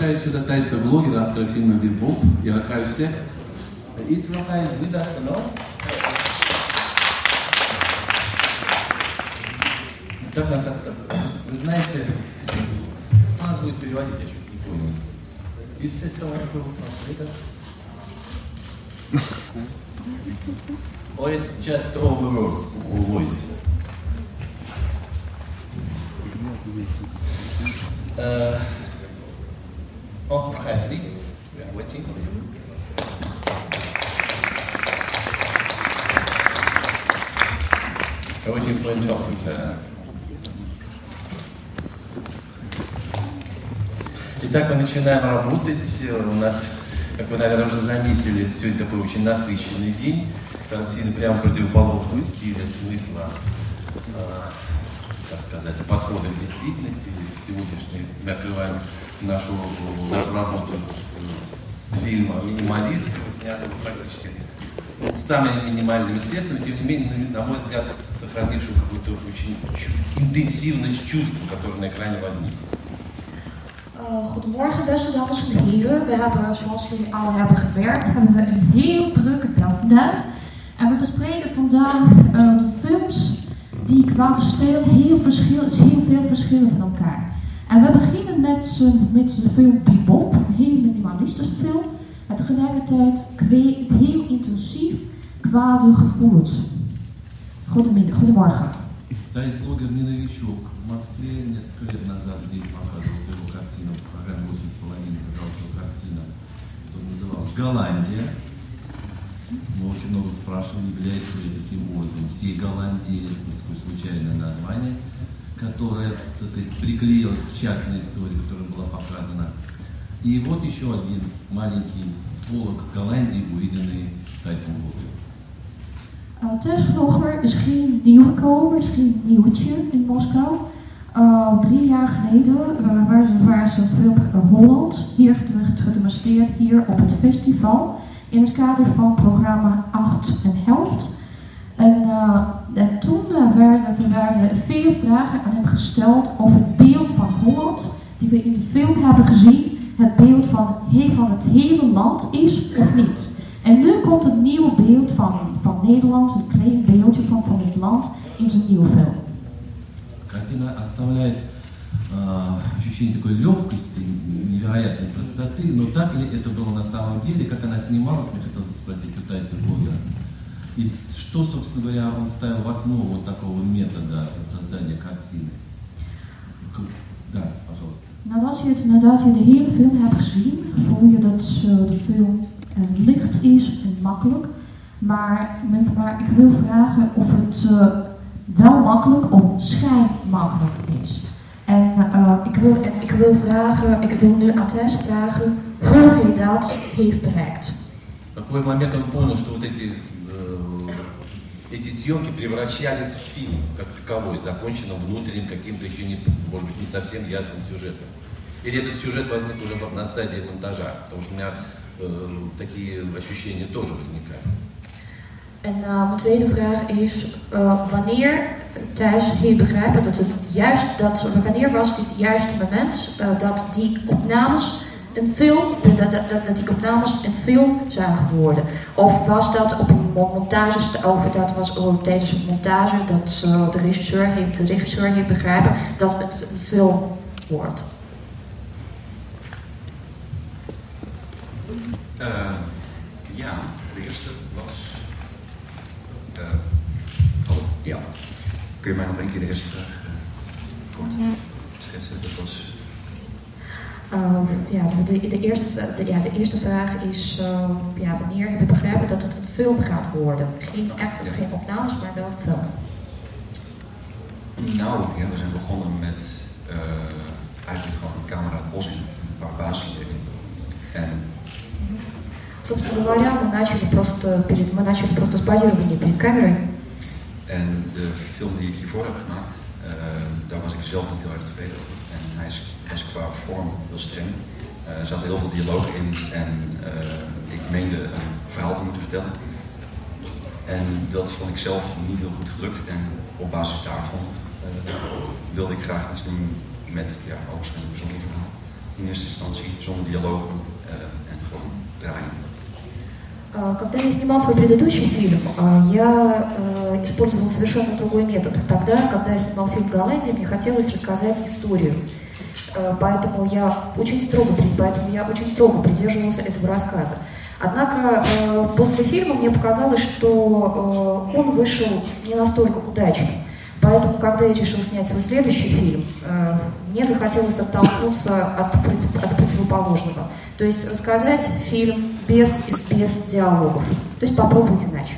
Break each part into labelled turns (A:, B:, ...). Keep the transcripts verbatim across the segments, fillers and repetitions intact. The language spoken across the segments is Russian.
A: приглашаю сюда Тайса блогера, автора фильма «Бибоп». Я рахаю всех. Is Rahai with us, no? Так нас оставили. Вы знаете, кто нас будет переводить, я чуть не понял. Is it someone who will translate us? Or it's just over voice? Uh, oh, Rahai, please. We are waiting for you. We're waiting for interpreter. Итак, мы начинаем работать. У нас, как вы, наверное, уже заметили, сегодня такой очень насыщенный день. Картины прямо противоположного стиля, смысла, э, так сказать, подхода к действительности. Сегодняшний мы открываем нашу, нашу работу с, с фильма «Минималист», снятого практически самыми минимальными средствами, тем не менее, на мой взгляд, сохранившего какую-то очень интенсивность чувств, которое на экране возникло.
B: Uh, goedemorgen beste dames en heren. We hebben, zoals jullie al hebben gewerkt, hebben we een heel drukke dag vandaag. En we bespreken vandaag uh, de films die qua stijl heel, verschil, heel veel verschillen van elkaar. En we beginnen met, uh, met de film Bibop, een heel minimalistische film. En tegelijkertijd kweekt heel intensief qua de gevoelens. Goedemiddag, goedemorgen.
A: Тайс-блогер не новичок. В Москве несколько лет назад здесь показывался его картина, в программе восемь с половиной показалась его картина, которая называлась «Голландия». Мы очень много спрашивали, является ли этим образом всей Голландии, такое случайное название, которое, так сказать, приклеилось к частной истории, которая была показана. И вот еще один маленький сполох Голландии, увиденный Тайсом блогером.
B: Uh, Thuisvlogger is geen nieuwkomer, is geen nieuwtje in Moskou. Uh, drie jaar geleden uh, waar ze, waar ze een film uh, Holland hier gedemonstreerd hier op het festival in het kader van programma acht en helft. En, uh, en toen uh, werden, werden veel vragen aan hem gesteld over het beeld van Holland die we in de film hebben gezien, het beeld van, he, van het hele land is of niet. En nu komt het nieuwe beeld van, van Nederland, een klein beeldje van, van het land in zijn nieuwe film.
A: Картина оставляет э, ощущение такой легкости, невероятной простоты, но так ли это было на самом деле, как она снималась, мне хотелось спросить у Тайса блогера. И что, собственно говоря, он ставил в основу вот такого метода создания картины? Да, пожалуйста.
B: Nadat je, het, nadat je de hele film hebt gezien, voel je dat uh, de film uh, licht is en makkelijk. Maar, maar ik wil vragen of het uh, wel makkelijk of schijnmakkelijk is. En uh, ik, wil, en ik wil vragen, ik wil nu aan Thijs vragen hoe hij dat heeft bereikt.
A: В какой момент он понял, что вот эти, э, эти съемки превращались в фильм как таковой, законченным внутренним каким-то еще не, может быть, не совсем ясным сюжетом? Или этот сюжет возник уже на стадии монтажа? Потому что у меня э, такие ощущения тоже возникают.
B: En uh, mijn tweede vraag is, uh, wanneer Thijs heeft begrepen dat het juist, dat, wanneer was dit het juiste moment uh, dat die opnames een film, dat, dat, dat, dat die opnames een film zagen worden? Of was dat op een montage, of dat was oh, tijdens een montage dat uh, de regisseur heeft, de regisseur heeft begrepen dat het een film wordt?
C: Uh, ja, de eerste was. Uh, oh, ja. Kun je mij nog een keer de eerste vraag uh, kort schetsen? Dat was.
B: Uh, ja, de, de, eerste, de, ja, de eerste vraag is: uh, ja, wanneer heb je begrepen dat het een film gaat worden? Geen, echt, ja. Geen opnames, maar wel een film.
C: Nou, ja, we zijn begonnen met uh, eigenlijk gewoon een camera het bos in, een paar basisideen. En
B: собственно говоря, мы начали просто перед, мы начали просто с базирования перед камерой.
C: En de film die ik hiervoor heb gemaakt, uh, daar was ik zelf niet heel erg tevreden over. En hij is, was qua vorm heel streng. Uh, er zaten heel veel dialogen in en uh, ik meende een verhaal te moeten vertellen. En dat vond ik zelf niet heel goed gelukt. En op basis daarvan uh, wilde ik graag iets doen met ja, ook een bijzonder verhaal. in eerste instantie, zonder dialogen uh, en gewoon draaien.
D: Когда я снимал свой предыдущий фильм, я использовал совершенно другой метод. Тогда, когда я снимал фильм «Голландия», мне хотелось рассказать историю. Поэтому я очень строго, поэтому я очень строго придерживался этого рассказа. Однако после фильма мне показалось, что он вышел не настолько удачным. Поэтому, когда я решил снять свой следующий фильм, мне захотелось оттолкнуться от, от противоположного. То есть рассказать фильм без, без диалогов. То есть попробовать иначе.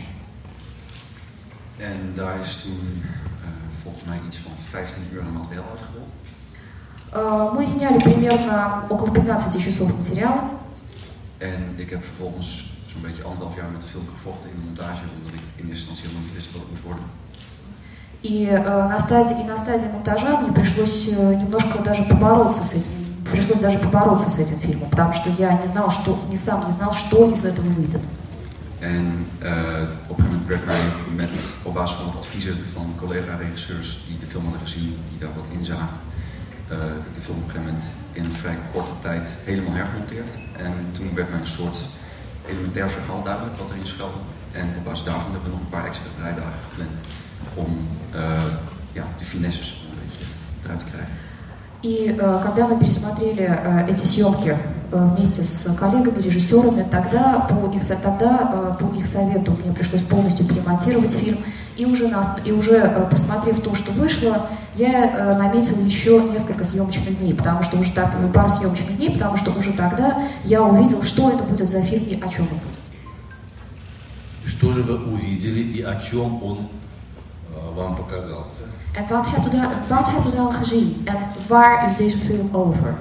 C: En daar is toen uh, volgens mij iets van vijftien uur aan materiaal uitgerold.
D: Мы сняли примерно около пятнадцати часов материала.
C: En ik heb vervolgens zo'n beetje anderhalf jaar met de film gevochten in de montage, omdat ik in eerste instantie helemaal niet wist wat het moest worden.
D: И, э, на стадии, и на стадии монтажа мне пришлось э, немножко даже побороться с этим, пришлось даже побороться с этим фильмом, потому что я не знал, что, не сам не знал, что из этого выйдет.
C: En uh, op een gegeven moment werd mij met, op basis van het adviezen van collega-regisseurs die de film hadden gezien, die daar wat in zagen, uh, de film op een gegeven moment in een vrij korte tijd helemaal hergemonteerd. En toen werd mij een soort elementair verhaal duidelijk wat erin schuilde. En op basis daarvan hebben we nog een paar extra draaidagen gepland om uh, ja, de finesses een beetje eruit te krijgen.
D: И э, когда мы пересмотрели э, эти съемки э, вместе с коллегами, режиссерами, тогда по их, тогда, э, по их совету мне пришлось полностью перемонтировать фильм. И уже, нас, и уже э, просмотрев то, что вышло, я э, наметила еще несколько съемочных дней, потому что уже так, пару съемочных дней, потому что уже тогда я увидел, что это будет за фильм и о чем он будет.
A: Что же вы увидели и о чем он э, вам показался?
D: En wat hebt, u dan, wat hebt u dan gezien? En waar is deze film over?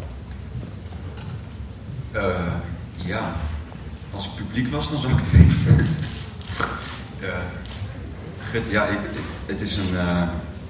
C: Uh, ja, als ik publiek was, dan zou ik het weten. uh, gut, ja, ik, ik, het is een... Uh,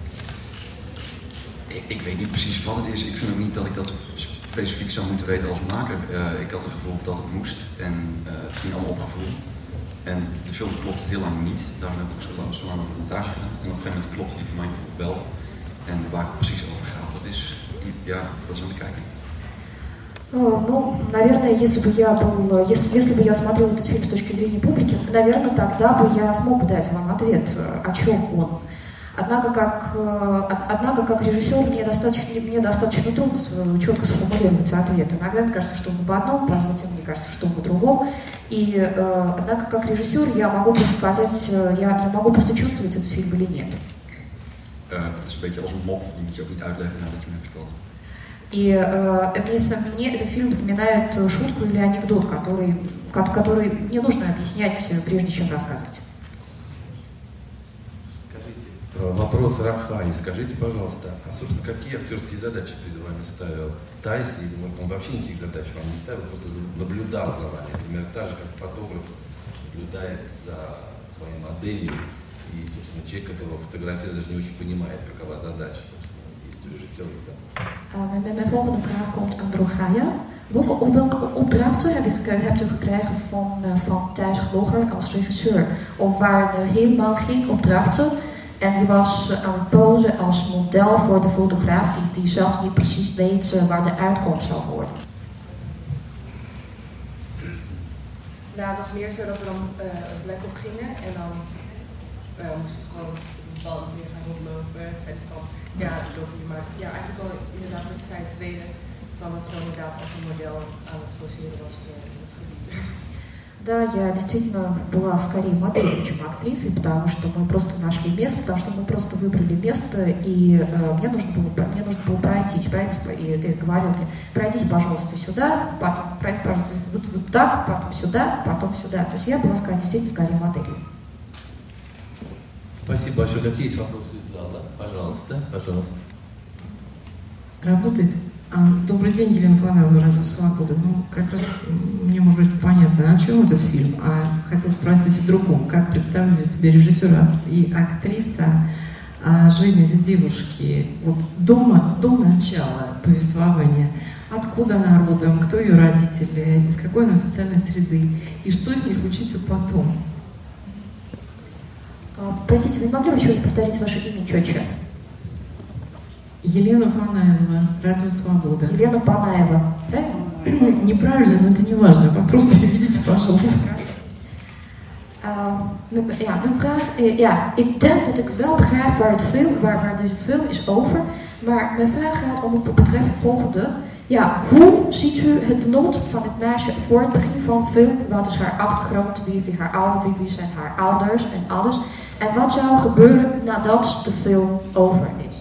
C: ik, ik weet niet precies wat het is. Ik vind ook niet dat ik dat specifiek zou moeten weten als maker. Uh, ik had het gevoel dat het moest en uh, het ging allemaal op gevoel. En de film klopt heel lang niet. Daarom heb ik ook zo lang, zo lang over de montage gedaan. En op een gegeven moment klopt die voor mijn gevoel wel. En waar het precies over gaat, dat is, ja, dat is aan de kijker.
D: Ну, наверное, если бы я был, если, если бы я смотрел этот фильм с точки зрения публики, наверное, тогда бы я смог бы дать вам ответ, о чем он. Однако, как, однако, как режиссер, мне достаточно, мне достаточно трудно четко сформулировать ответ. Иногда мне кажется, что он об одном, затем мне кажется, что он о другом. И, однако, как режиссер, я могу просто сказать, я, я могу просто чувствовать этот фильм или нет.
C: Uh, het is een beetje als een mop, die moet je ook niet uitleggen nadat je me hebt verteld.
D: И э, мне, мне этот фильм напоминает шутку или анекдот, который, который не нужно объяснять, прежде чем рассказывать.
A: Вопрос Рахай. Скажите, пожалуйста, а, собственно, какие актерские задачи перед вами ставил Тайс, или, может, он вообще никаких задач вам не ставил, просто наблюдал за вами, например, так же, как фотограф наблюдает за своей моделью, и, собственно, человек, которого фотографирует, даже не очень понимает, какова задача, собственно, есть у режиссера там.
D: Uh, mijn volgende vraag komt aan Drogaya. Welke, op welke opdrachten heb je, hebt u gekregen van, uh, van Thijs Gloger als regisseur? Of waren er helemaal geen opdrachten? En je was aan het posen als model voor de fotograaf die, die zelf niet precies weet uh, waar de uitkomst zal worden.
E: Nou, het was meer zo dat we dan uh, het plek op gingen en dan uh, moesten we gewoon op een bepaalde manier gaan rondlopen. Zeiden van, ja, loop je maar. Ja, eigenlijk al inderdaad wat je zei, het tweede, van dat we inderdaad als een model aan het poseren was uh, in het gebied.
D: Да, я действительно была скорее моделью, чем актрисой, потому что мы просто нашли место, потому что мы просто выбрали место, и э, мне нужно было, мне нужно было пройтись, пройтись, и ты говорил мне, пройдись, пожалуйста, сюда, потом пройдись, пожалуйста, вот, вот так, потом сюда, потом сюда. То есть я была скорее, действительно скорее моделью.
A: Спасибо большое. Какие есть вопросы из зала? Пожалуйста, пожалуйста.
F: Работает. Добрый день, Елена Фланелла, Радио Свобода. Ну, как раз мне, может быть, понятно, о чем этот фильм, а хотел спросить о другом. Как представили себе режиссер и актриса жизнь этой девушки вот до, до начала повествования? Откуда она родом, кто ее родители, из какой она социальной среды, и что с ней случится потом?
D: Простите, вы могли бы еще раз повторить ваше имя четче?
F: Елена Панаева, Радио Свобода.
D: Елена Панаева, правильно?
F: Неправильно, но это не важно. Вопрос переведите, пожалуйста.
D: Uh, ja, mijn vraag, uh, ja, ik denk dat ik wel begrijp waar, het film, waar, waar deze film is over. Maar mijn vraag gaat om het betreft het volgende. Ja, hoe ziet u het lot van het meisje voor het begin van de film? Wat is haar achtergrond? Wie, wie, haar ouders, wie, wie zijn haar ouders en alles? En wat zou gebeuren nadat de film over is?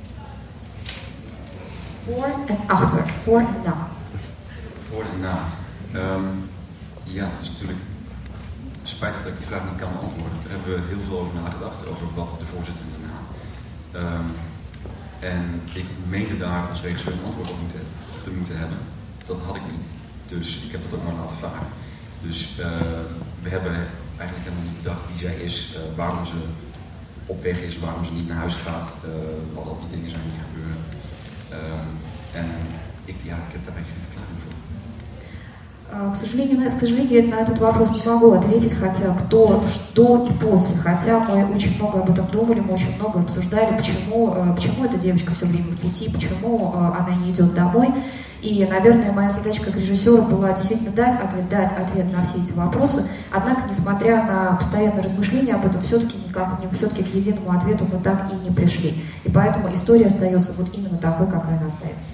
D: Voor en achter, voor en na.
C: Voor en na. Um, ja, dat is natuurlijk spijtig dat ik die vraag niet kan beantwoorden. Daar hebben we heel veel over nagedacht, over wat de voorzitter en daarna. Um, en ik meende daar als regisseur een antwoord op moeten, te moeten hebben. Dat had ik niet. Dus ik heb dat ook maar laten varen. Dus uh, we hebben eigenlijk helemaal niet bedacht wie zij is, uh, waarom ze op weg is, waarom ze niet naar huis gaat, uh, wat al die dingen zijn die gebeuren. Um, en ik, ja, ik heb daar eigenlijk geen verklaring voor.
D: К сожалению, к сожалению, на этот вопрос не могу ответить, хотя кто, что и после. Хотя мы очень много об этом думали, мы очень много обсуждали, почему, почему эта девочка все время в пути, почему она не идет домой. И, наверное, моя задача как режиссера была действительно дать ответ, дать ответ на все эти вопросы. Однако, несмотря на постоянные размышления об этом, все-таки никак, все-таки к единому ответу мы так и не пришли. И поэтому история остается вот именно такой, какая она остается.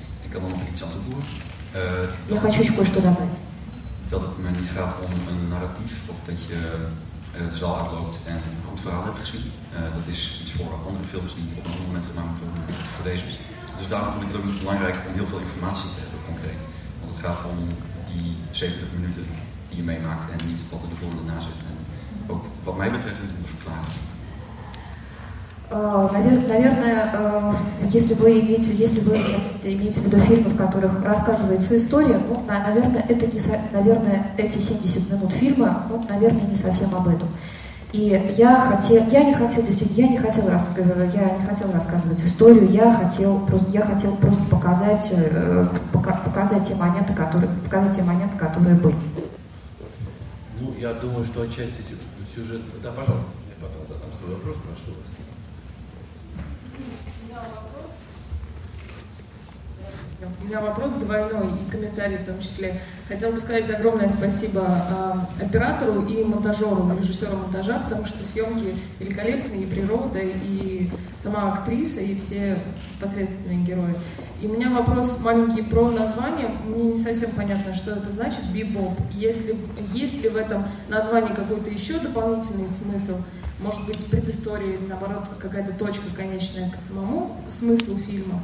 D: Я хочу еще кое-что добавить.
C: Dat het me niet gaat om een narratief of dat je uh, de zaal uitloopt en een goed verhaal hebt gezien. Uh, dat is iets voor andere films die op een ander moment gemaakt worden, maar voor deze. Dus daarom vond ik het ook niet belangrijk om heel veel informatie te hebben, concreet. Want het gaat om die zeventig minuten die je meemaakt en niet wat er de volgende na zit. En ook wat mij betreft moet ik me verklaren.
D: Наверное, если вы имеете, если вы имеете в виду фильмы, в которых рассказывается история, ну, наверное, это не, наверное, эти семьдесят минут фильма, ну, наверное, не совсем об этом. И я хотел, я не хотел, действительно, я не хотел, я не хотел рассказывать историю, я хотел просто, я хотел просто показать, показать те моменты, которые, показать те моменты, которые были.
A: Ну, я думаю, что отчасти сюжет. Да, пожалуйста, я потом задам свой вопрос, прошу вас.
E: У меня вопрос двойной и комментарий в том числе. Хотела бы сказать огромное спасибо э, оператору и монтажеру, режиссеру монтажа, потому что съемки великолепные, и природа, и сама актриса, и все посредственные герои. И у меня вопрос маленький про название. Мне не совсем понятно, что это значит «бибоп». Если, есть ли в этом названии какой-то еще дополнительный смысл? Может быть, предыстория или, наоборот, какая-то точка конечная к самому к смыслу фильма?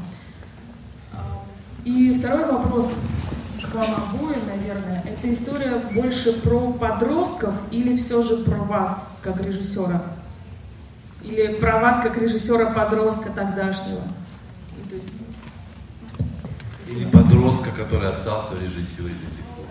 E: И второй вопрос к вам обоим, наверное. Эта история больше про подростков или все же про вас, как режиссера? Или про вас, как режиссера-подростка тогдашнего? То есть...
A: Или подростка, который остался в режиссуре до сих пор.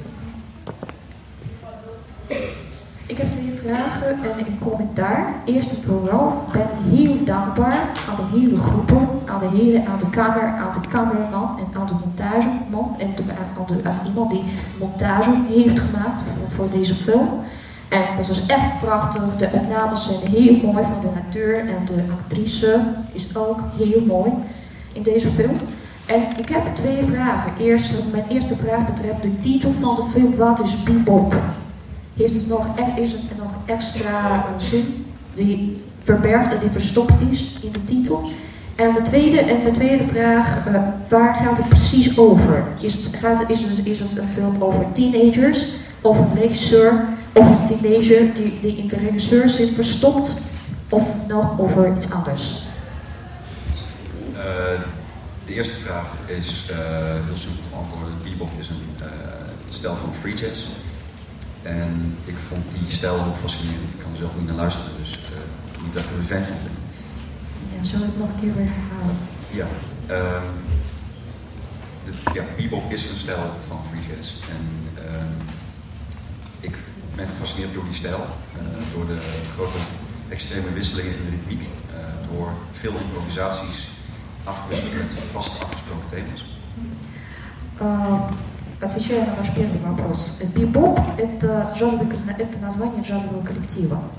D: Ik heb twee vragen en een commentaar. Eerst en vooral ben ik heel dankbaar aan de hele groepen, aan de hele, aan de kamer, aan de cameraman en aan de montageman en de, aan, de, aan iemand die montage heeft gemaakt voor, voor deze film. En dat was echt prachtig. De opnames zijn heel mooi van de natuur en de actrice is ook heel mooi in deze film. En ik heb twee vragen. Eerst, mijn eerste vraag betreft de titel van de film. Wat is bebop? Heeft het nog, is het nog extra zin die verbergt, die verstopt is in de titel? En mijn tweede, en mijn tweede vraag, uh, waar gaat het precies over? Is het, gaat, is, het, is het een film over teenagers, of een regisseur, of een teenager die, die in de regisseur zit verstopt, of nog over iets anders?
C: Uh, de eerste vraag is uh, heel simpel te beantwoorden. Bebop is een uh, stijl van free jazz. En ik vond die stijl heel fascinerend. Ik kan er zelf niet naar luisteren, dus uh, niet dat ik er een fan van ben.
D: Ja, zal ik nog een keer weer herhalen?
C: Ja, um, de, ja, bebop is een stijl van free jazz. En um, ik ben gefascineerd door die stijl, uh, door de grote extreme wisselingen in de ritmiek, uh, door veel improvisaties afgewisseld met vast afgesproken thema's.
D: Uh, Отвечая на ваш первый вопрос, бибоп – это, джазовый, это название джазового коллектива.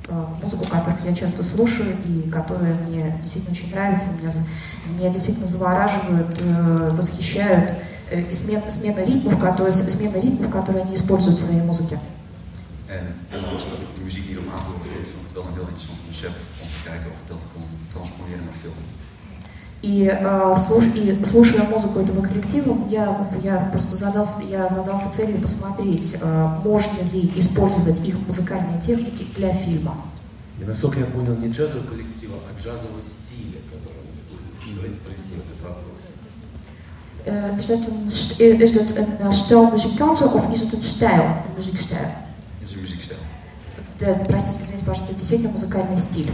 D: музыку, которую я часто слушаю и которая мне действительно очень нравится, меня, меня действительно завораживают, восхищают, и смена, смена ритмов, которые, смена ритмов, которые они используют в своей музыке.
C: En ondanks dat ik de muziek niet om aan te horen vind, vond ik het wel een heel interessant concept om te kijken of ik dat kon transponeren naar film.
D: И, э, слуш, и слушая музыку этого коллектива, я, я просто задался, я задался целью посмотреть, э, можно ли использовать их музыкальные техники для фильма.
A: И насколько я понял, не джазового коллектива, а джазового стиля, который он использует. Давайте проясним этот вопрос.
D: Uh, is, dat een, is dat een uh, stel muzikanten of is het een stijl, een muziekstijl?
C: Het is een muziekstijl.
D: Да, простите, извините, пожалуйста, это действительно музыкальный стиль.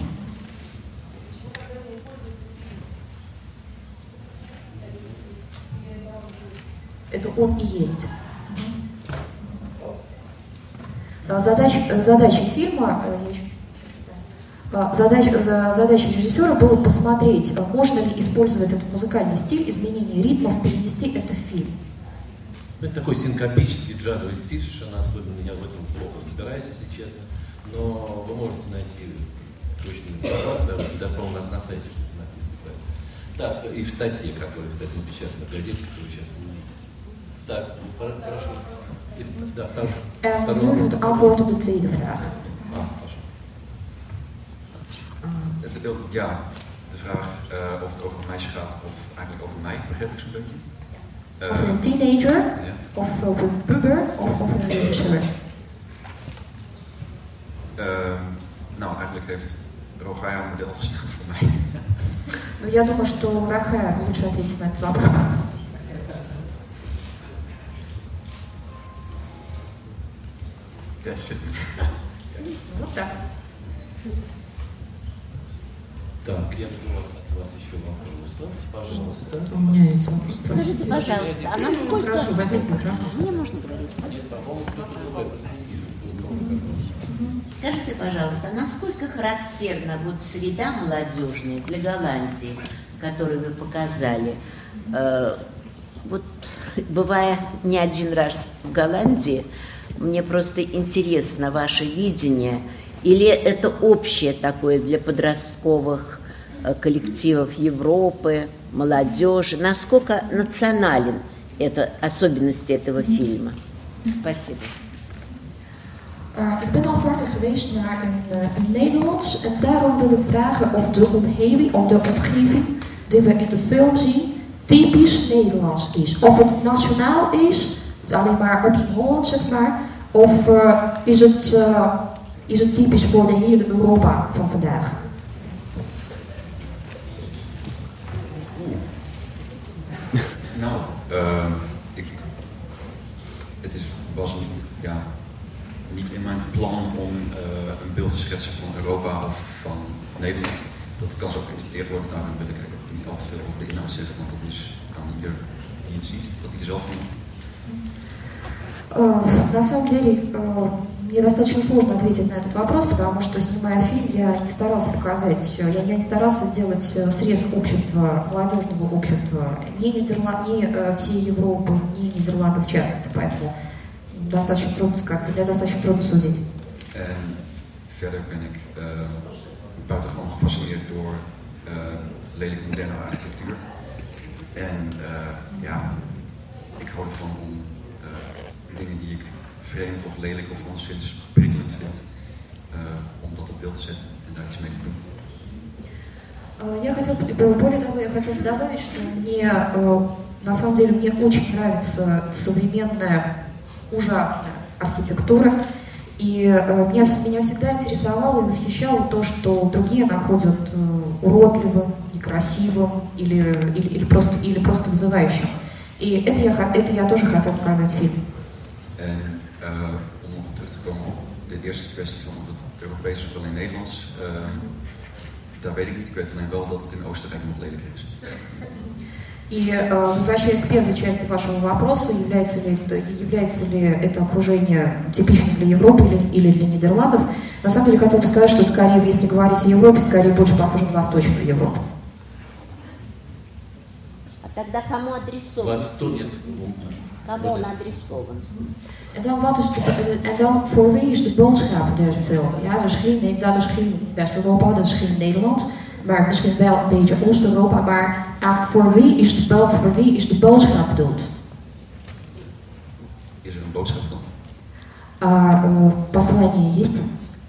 D: Это он и есть. Задача, задача фильма, я еще, да, задача, задача режиссера было посмотреть, можно ли использовать этот музыкальный стиль, изменение ритмов, перенести это в фильм.
A: Это такой синкопический джазовый стиль, совершенно особенно, я в этом плохо разбираюсь, если честно, но вы можете найти точную информацию, даже у нас на сайте что-то написано. Так, и в статье, которая, кстати, напечатана в газете, которую сейчас вы увидите. Так, прошу. Да, второй.
D: En nu het antwoord op de tweede vraag.
A: Ah, прошу.
C: Ja, de vraag uh, of het over een meisje gaat of eigenlijk over mij, begrijp ik zo'n beetje. Uh,
D: over een teenager,
C: ja.
D: of over een puber, of over een regisseur.
C: Uh, nou, eigenlijk heeft Rogaya een model gestaan voor mij.
D: Ну, я думаю, что Рахая лучше ответить на этот вопрос.
C: That's it.
D: Вот так.
A: Так, я жду от вас еще вопрос. Пожалуйста.
F: У меня есть вопрос.
G: Скажите, пожалуйста, а насколько...
F: Прошу, возьмите микрофон.
G: Мне можете говорить? Скажите, пожалуйста, насколько характерна вот среда молодежная для Голландии, которую вы показали? Вот, бывая не один раз в Голландии, мне просто интересно ваше видение, или это общее такое для подростковых коллективов Европы, молодежи? Насколько национален это, особенности этого фильма? Спасибо.
D: Uh, ik ben al vaker geweest naar een, uh, in Nederland en daarom wil ik vragen of de omgeving, of de omgeving die we in de film zien typisch Nederlands is. Of het nationaal is, alleen maar op zijn Holland zeg maar, of uh, is, het, uh, is het typisch voor de hele Europa van vandaag?
C: Nou, uh, ik, het is, was een, ja, niet in mijn plan om uh, een beeld te schetsen van Europa of van Nederland. Dat kan zo geïnterpreteerd worden, daarom wil ik eigenlijk niet al te veel over de inhoud zeggen, want dat is aan ieder die het ziet, dat hij er zelf van.
D: Uh, на самом деле, uh, мне достаточно сложно ответить на этот вопрос, потому что, снимая фильм, я не старался показать, я, я не старался сделать срез общества, молодежного общества, ни, Нидерланд, ни uh, всей Европы, ни Нидерландов в частности, поэтому достаточно трудно сказать, для меня достаточно трудно судить.
C: En verder ben ik uh, buitengewoon gefascineerd door uh, lelijke moderne architectuur. En uh, ja, ik hou ervan om uh, dingen die ik vreemd of lelijk of anderszins prikkelend vind, uh, om dat op beeld te zetten en daar iets mee te doen.
D: Я хотела, более того, я хотела добавить, что мне, на самом деле, мне очень нравится современная, ужасная архитектура, и меня, меня всегда интересовало и восхищало то, что другие находят уродливым, некрасивым или, или, или, просто, или просто вызывающим. И это я, это я тоже хотела показать в фильме.
C: En uh, om nog terug te komen op de eerste kwestie van of het Europees is of alleen Nederlands, uh, dat weet ik niet. Ik weet alleen wel dat het in Oostenrijk nog lelijker is.
D: И э, возвращаясь к первой части вашего вопроса, является ли, является ли это окружение типичным для Европы или, или для Нидерландов, на самом деле хотел бы сказать, что скорее, если говорить о Европе, скорее больше похоже на Восточную Европу.
G: А тогда кому адресован?
A: Вас тут нет.
G: Кому он адресован?
D: En dan, wat is de, en dan voor wie is de boodschap deze film? Ja, dus geen, dat is geen West-Europa, dat is geen Nederland, maar misschien wel een beetje Oost-Europa, maar uh, voor, wie is de, voor wie is de boodschap bedoeld?
C: Is er een boodschap dan?
D: Uh, uh, Послание есть?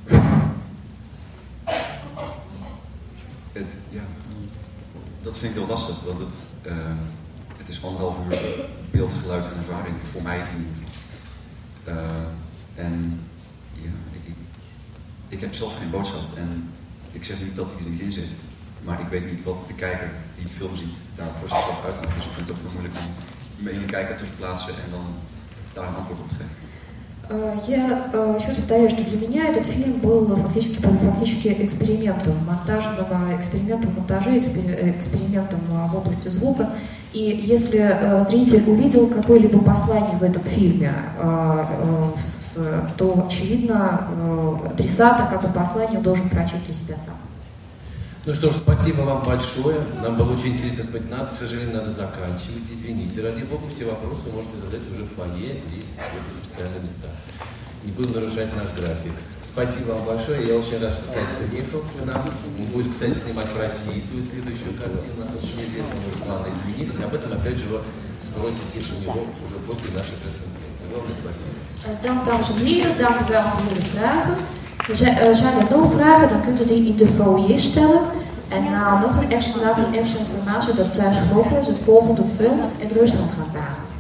C: Uh, ja, dat vind ik heel lastig, want het, uh, het is anderhalf uur beeld, geluid en ervaring, voor mij in ieder geval. Uh, en ja, ik, ik, ik heb zelf geen boodschap en ik zeg niet dat ik er niet in zit, maar ik weet niet wat de kijker die de film ziet daar voor zichzelf uithaalt. Dus ik vind het ook heel moeilijk om me in de kijker te verplaatsen en dan daar een antwoord op te geven.
D: Я еще раз повторяю, что для меня этот фильм был фактически, фактически экспериментом, монтажным экспериментом монтажа, экспериментом в области звука. И если зритель увидел какое-либо послание в этом фильме, то, очевидно, адресат, как и послание, должен прочесть для себя сам.
A: Ну что ж, спасибо вам большое. Нам было очень интересно смотреть. Нам, к сожалению, надо заканчивать. Извините, ради бога, все вопросы вы можете задать уже в фойе, здесь, в эти специальные места. Не будем нарушать наш график. Спасибо вам большое. Я очень рад, что Катя приехал к нам. Он будет, кстати, снимать в России свою следующую картину. У нас очень неизвестно, может, планы изменились. Об этом, опять же, вы спросите у него уже после нашей пресс-конференции. Огромное спасибо.
D: Dank, dames en heren. Dank u wel voor jullie vragen. Zijn er nog vragen, dan kunt u die in de foyer stellen. En na nog een extra, nog een extra informatie dat Thuis Glover zijn volgende film in Rusland gaat maken.